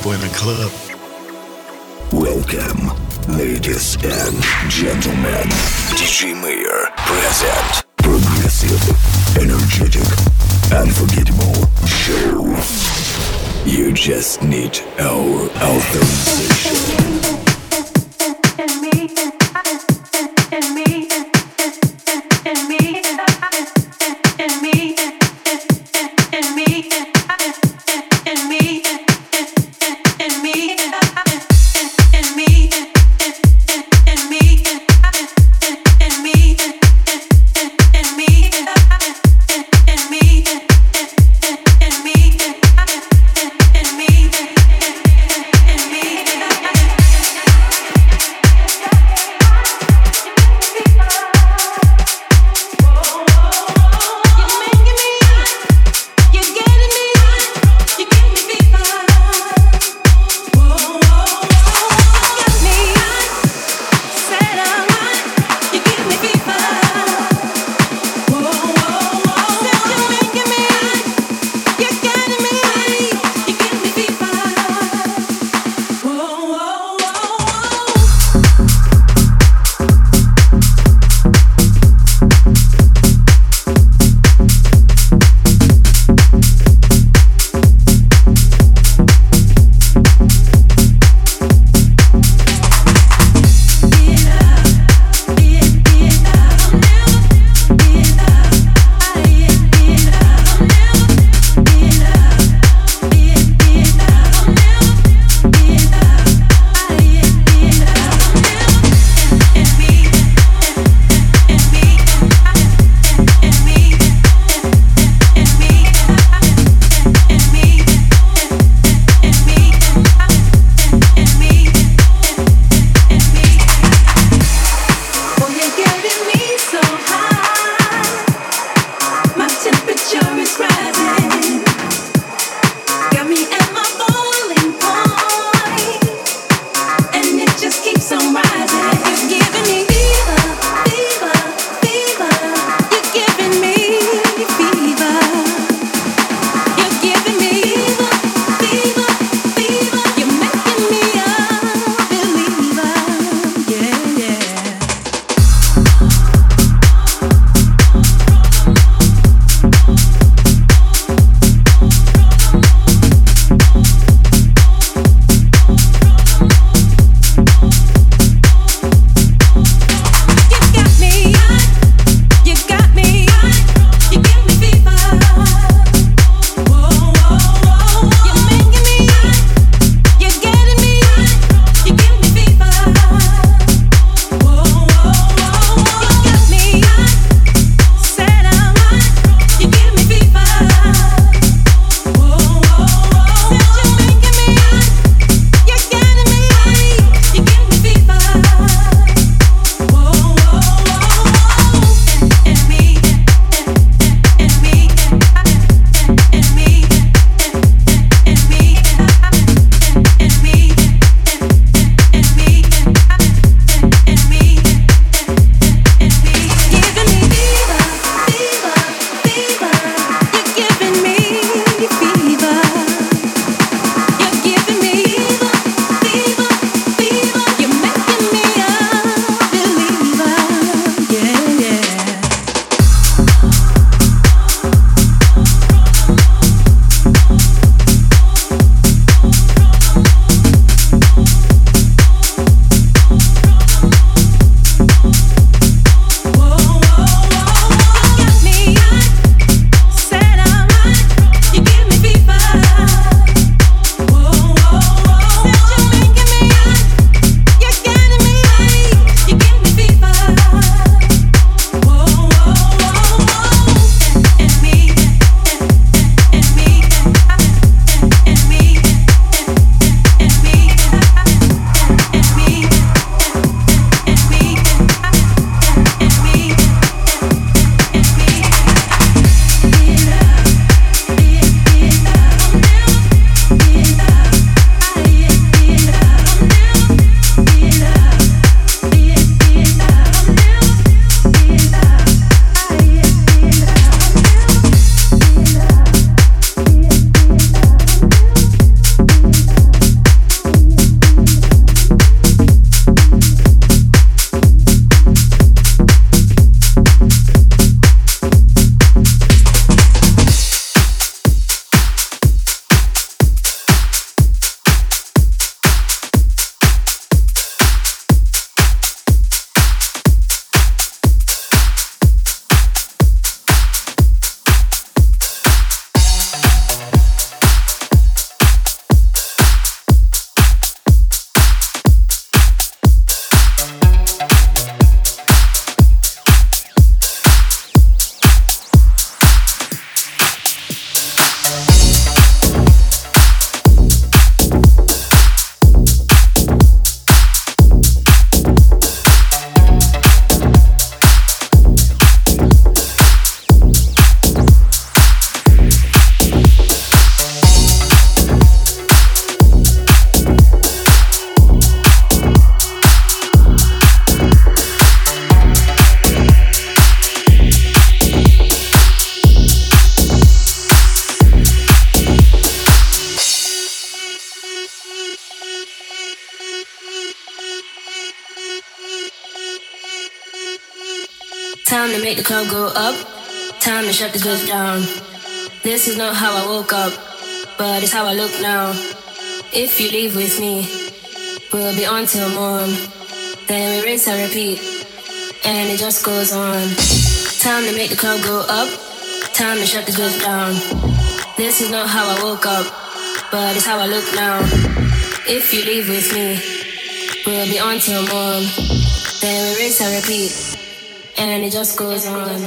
people in a club. Welcome, ladies and gentlemen. DJ Mayor present progressive, energetic, unforgettable show. You just need our authorization. Time to make the club go up. Time to shut the goods down. This is not how I woke up, but it's how I look now. If you leave with me, we'll be on till morn. Then we rinse and repeat, and it just goes on. Time to make the club go up. Time to shut the goods down. This is not how I woke up, but it's how I look now. If you leave with me, we'll be on till morn. Then we rinse and repeat, and it just goes on.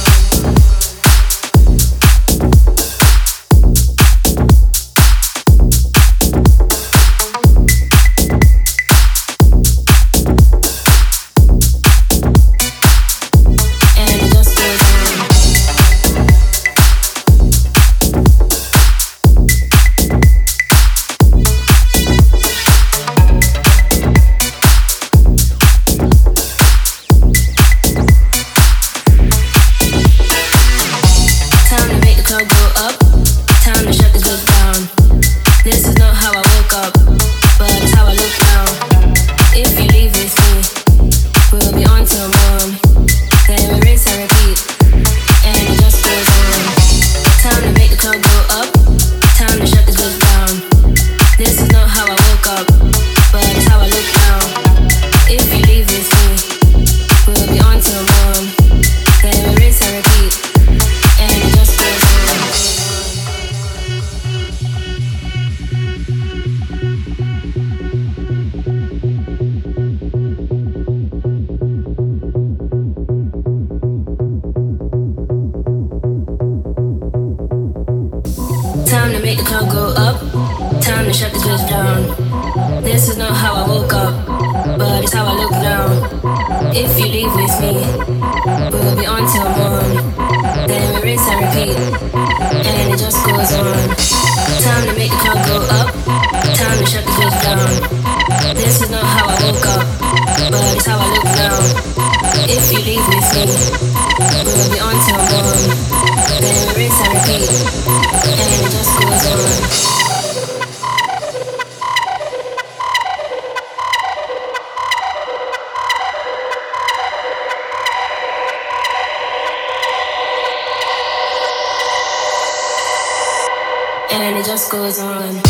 And it just goes on.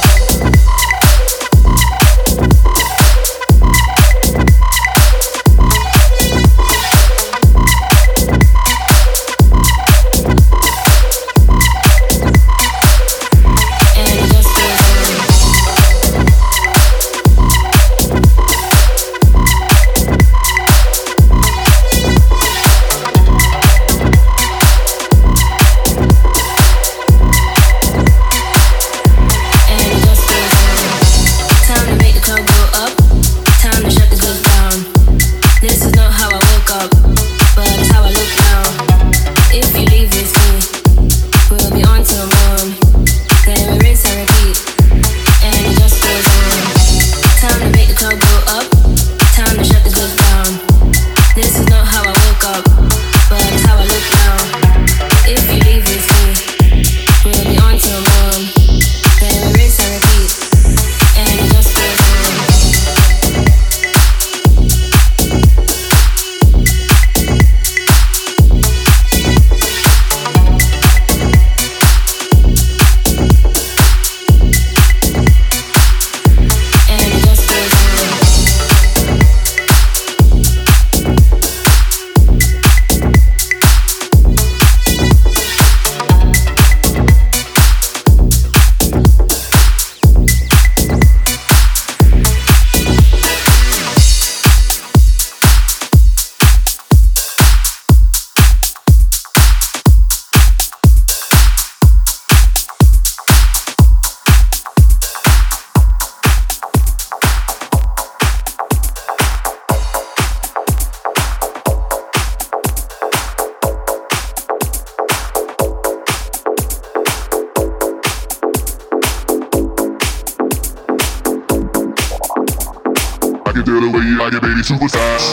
can tell the way you like it, baby, super fast.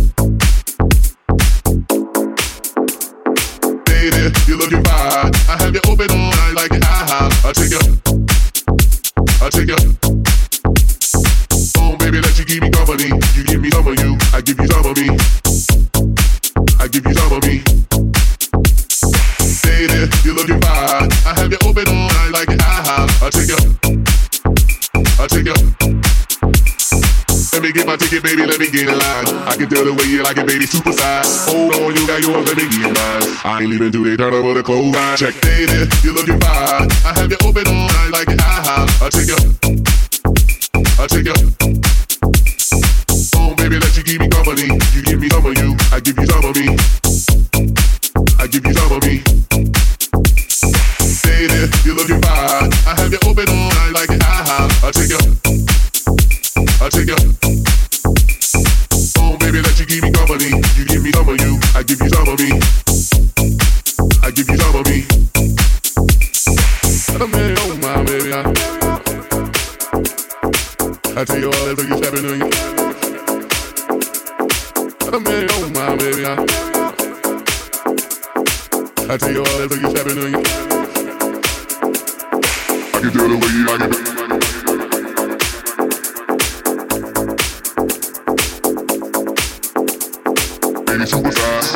You're looking fine. I have I take you. I take you. Oh, baby, let you keep me company. You give me some of you, I give you some of me. I give you some of me. Baby, you're looking fine. I have you open all night like an IHOP. I take you. I take you. Let me get my ticket, baby, let me get in line. I can tell the way you like it, baby, super size. Hold on, you got yours, let me get mine. I ain't leaving till they turn over the clothesline. Check, baby, you're looking fine. I have you open all night like an IHOP. I take you. I take you. Oh, baby, let you keep me company. You give me some of you, I give you some of me. I give you some of me. Baby, you're looking fine. I have you open all night like an IHOP. I take you. I take you. Oh, baby, let you keep me company. You give me some of you, I give you some of me. I give you some of me. Oh my baby, I tell you all that you stepping on you. Oh my baby, I tell you all that you stepping on you. I can tell the way you like it. Super fast.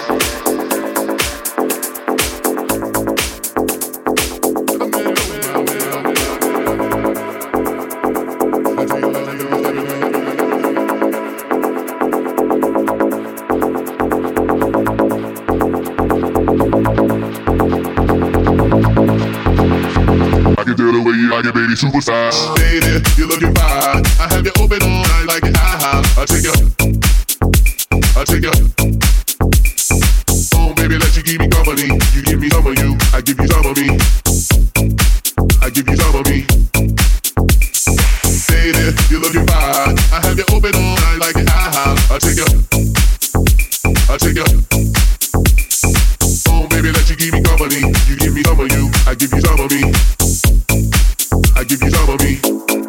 I can tell the way you like it, baby, super size. Baby, you're looking fine. I have you open all night like an IHOP. I take you. I take you. Oh, baby, let you keep me company. You give me some of you, I give you some of me. I give you some of me. Baby, you're looking fine. I have you open all night like an IHOP. I take you. I take you. Oh, baby, let you keep me company. You give me some of you, I give you some of me. I give you some of me.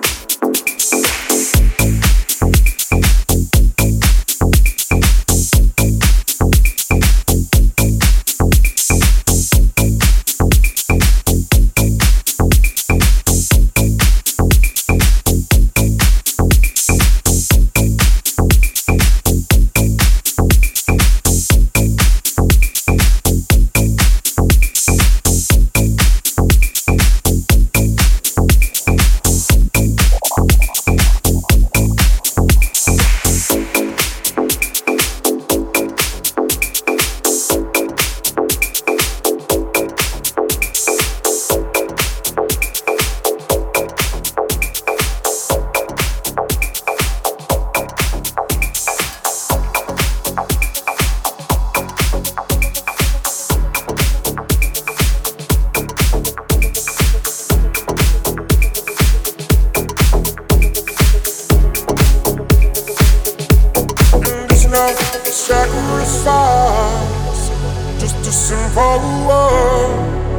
Sacrifice, just a simple word.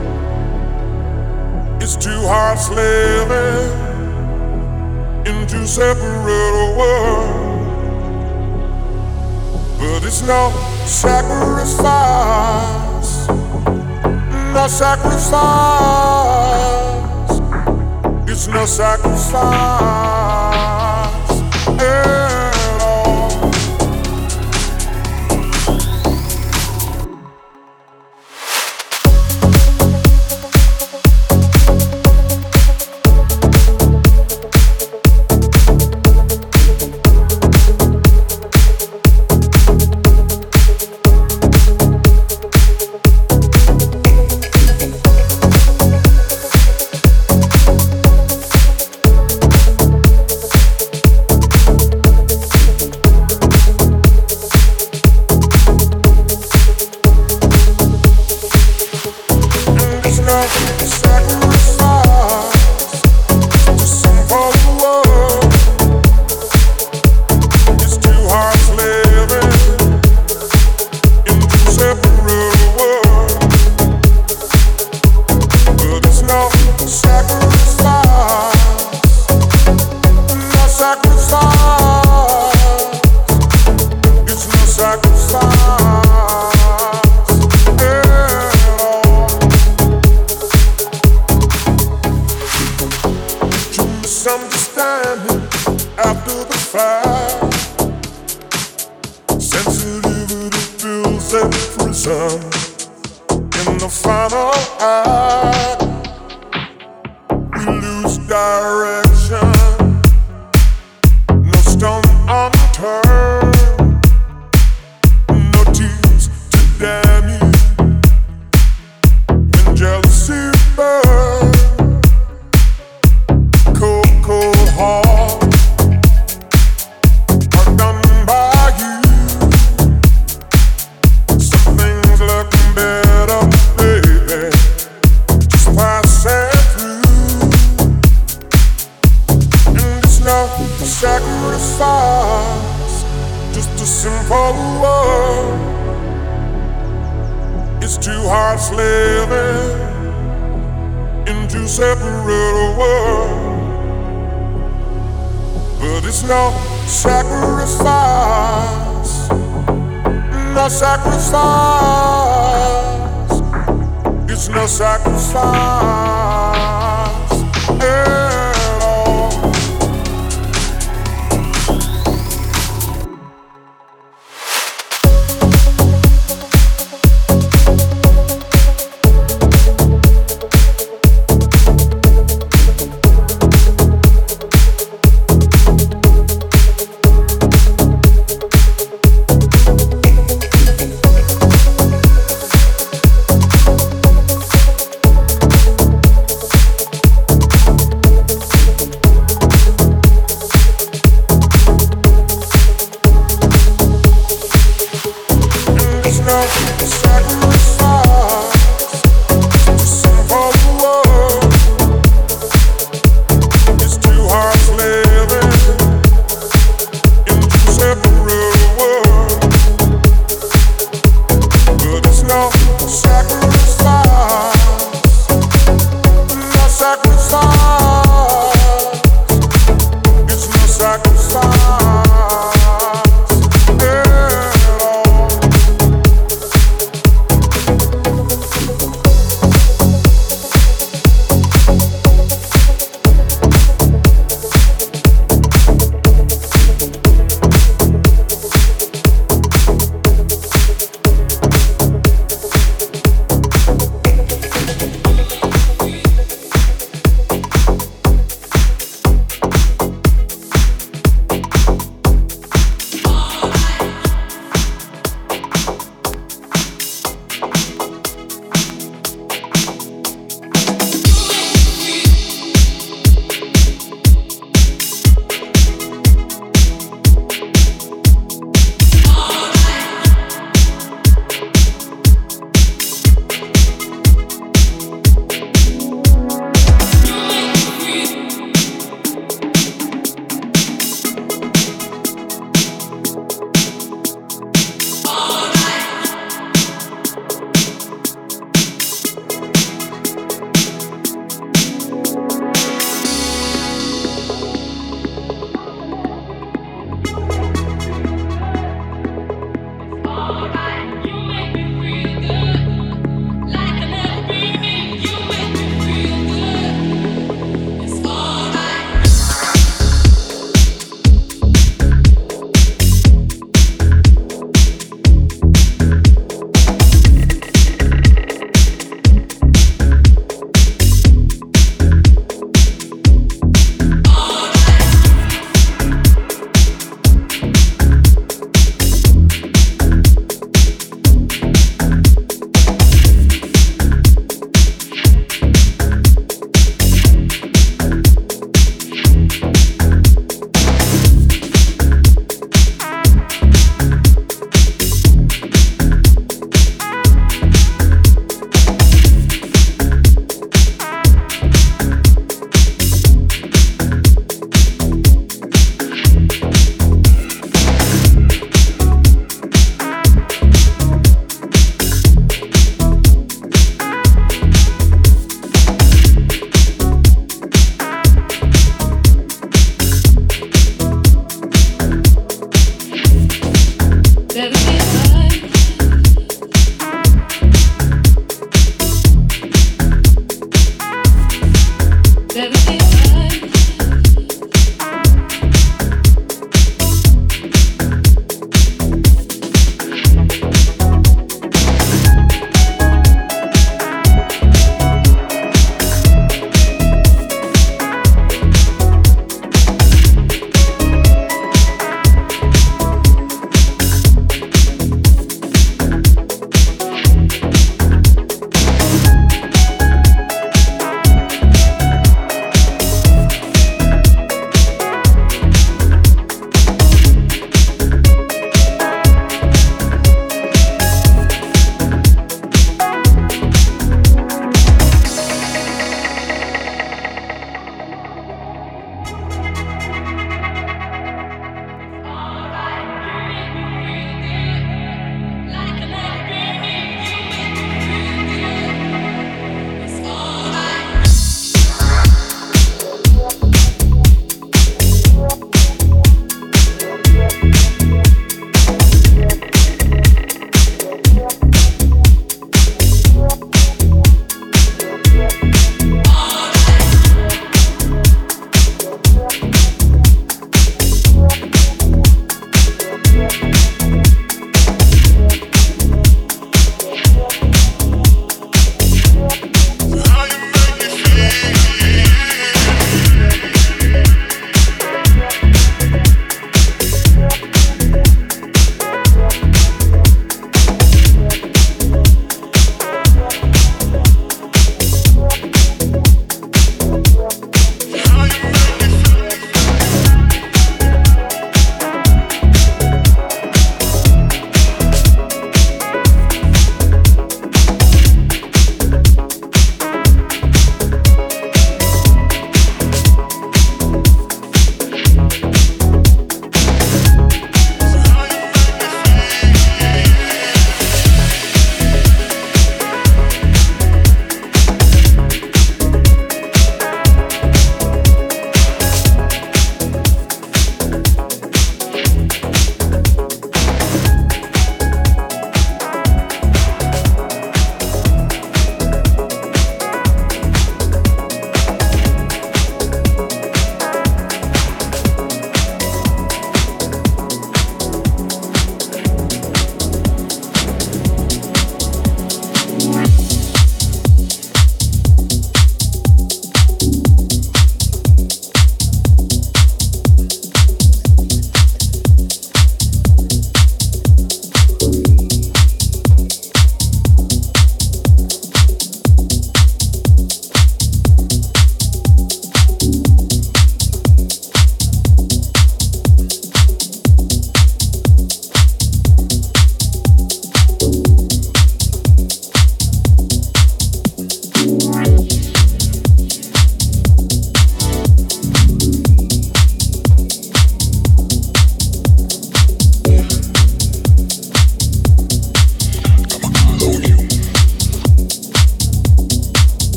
It's two hearts living in two separate worlds, but it's no sacrifice, no sacrifice. It's no sacrifice at all. fast. Sensitivity feels at prison. In the final act, we lose direction. No stone unturned, no tears to damn you. When jealousy burns, cold, cold hearts are done by you. Some things look better, baby, just passing through. And it's not a sacrifice, just a simple word. It's two hearts living in two separate worlds. But it's no sacrifice, no sacrifice. It's no sacrifice at all.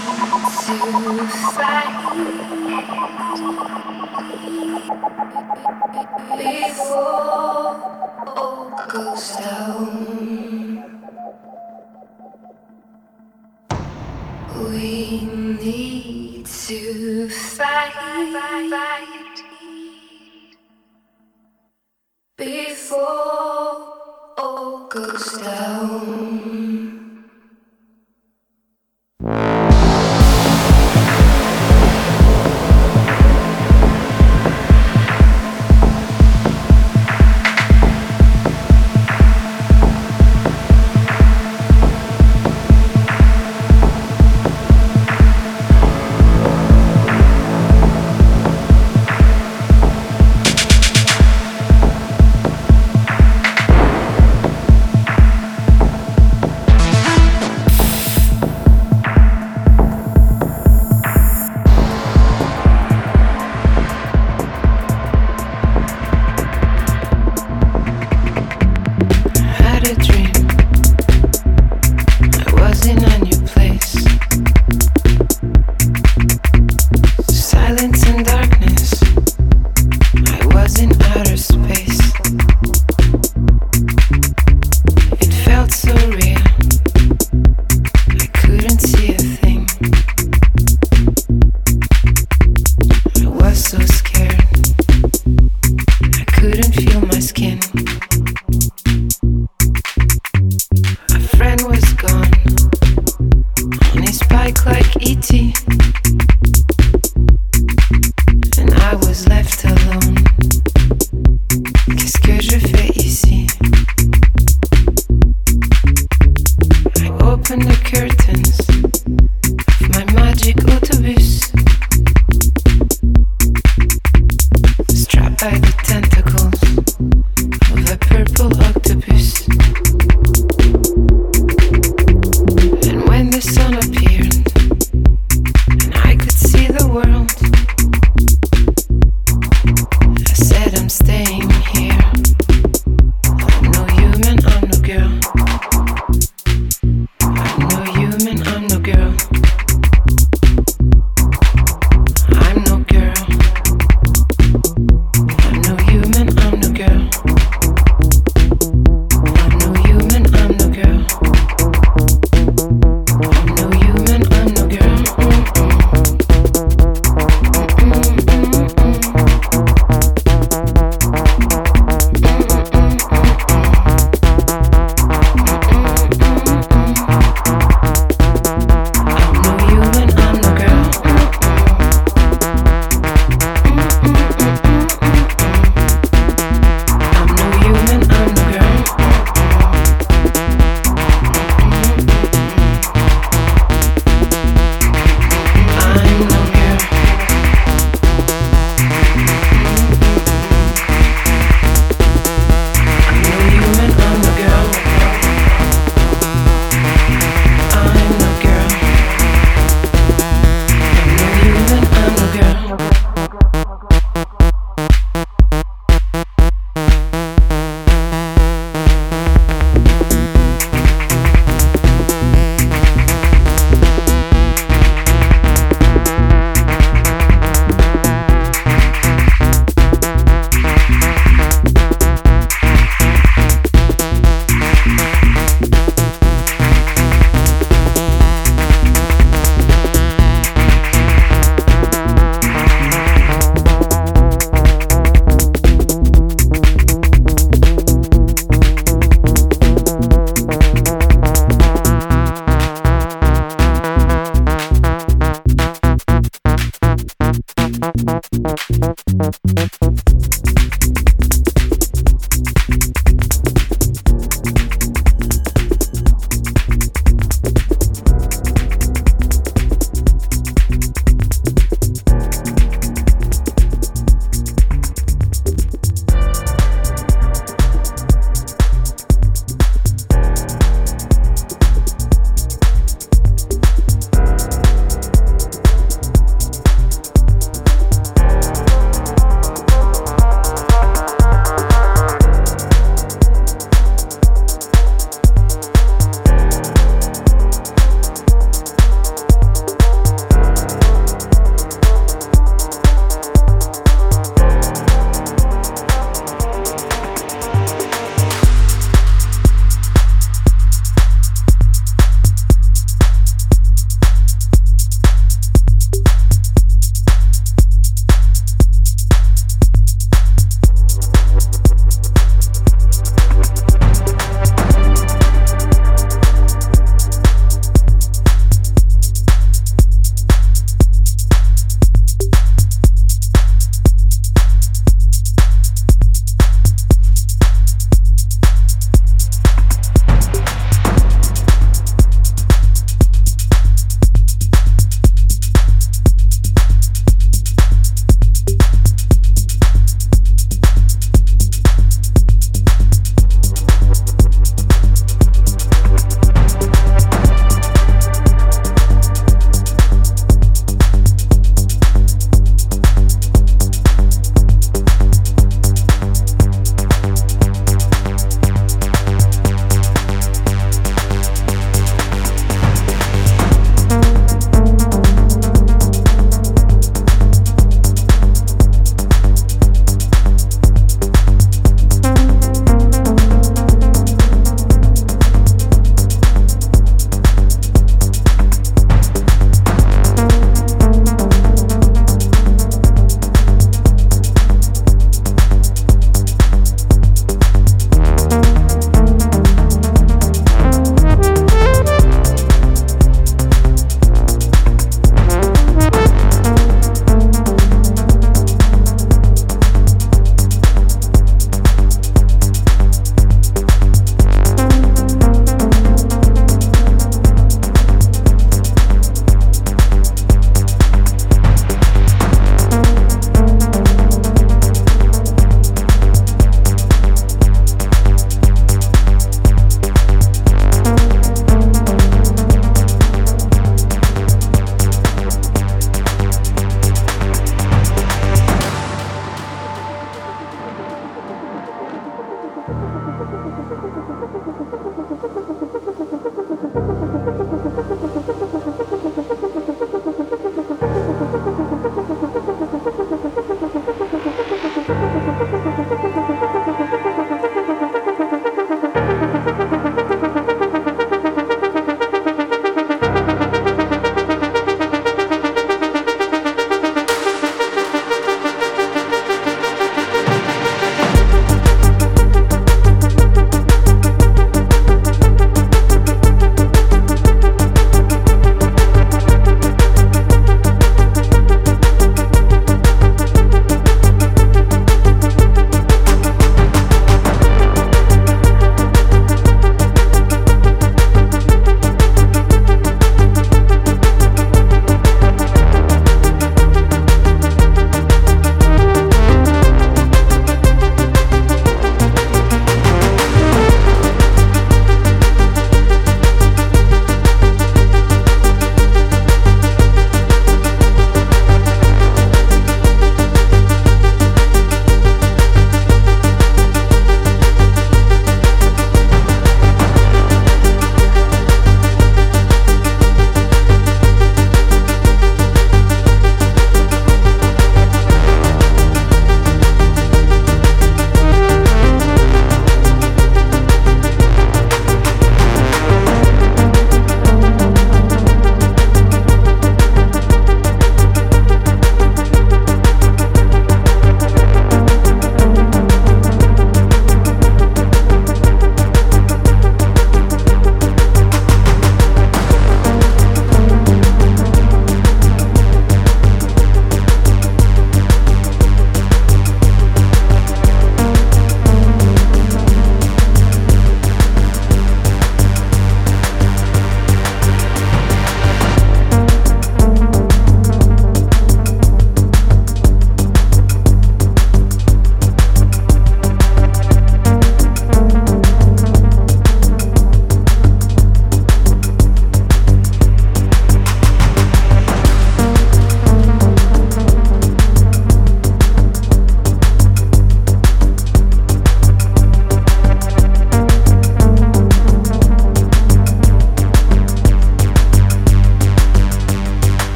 And when the sun appeared and I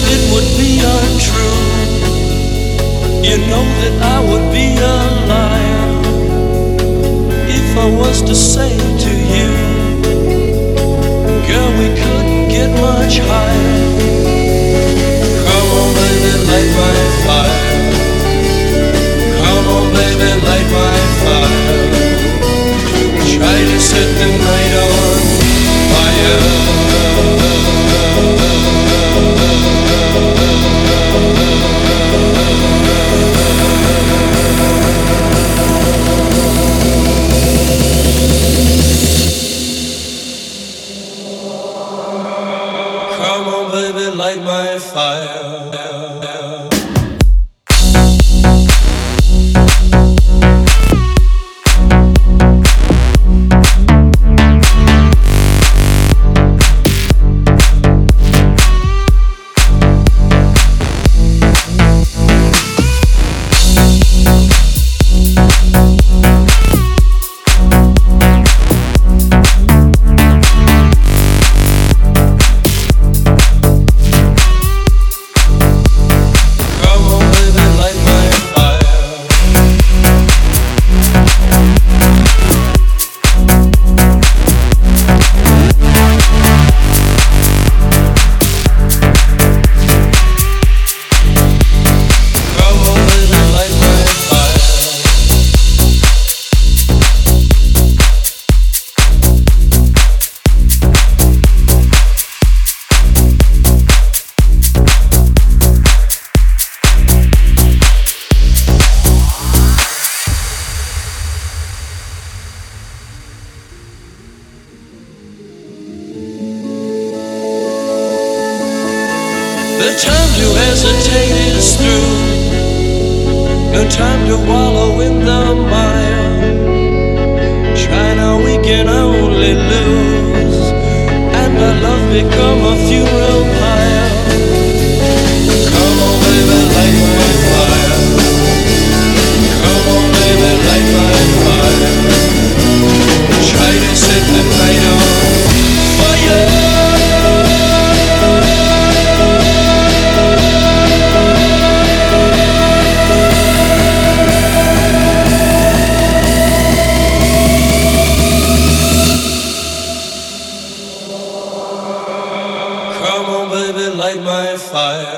it would be untrue. You know that I would be a liar if I was to say to you, girl, we couldn't get much higher. Come on, baby, light my fire. Come on, baby, light my fire. Try to set the night on fire. Come on, baby, light my fire. The time to hesitate is through. No time to wallow in the mire. Try now, we can only lose, and our love become a funeral pyre. Come on, baby, light my fire. Come on, baby, light my fire. Try to set the night on fire. Light my fire.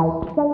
Bye.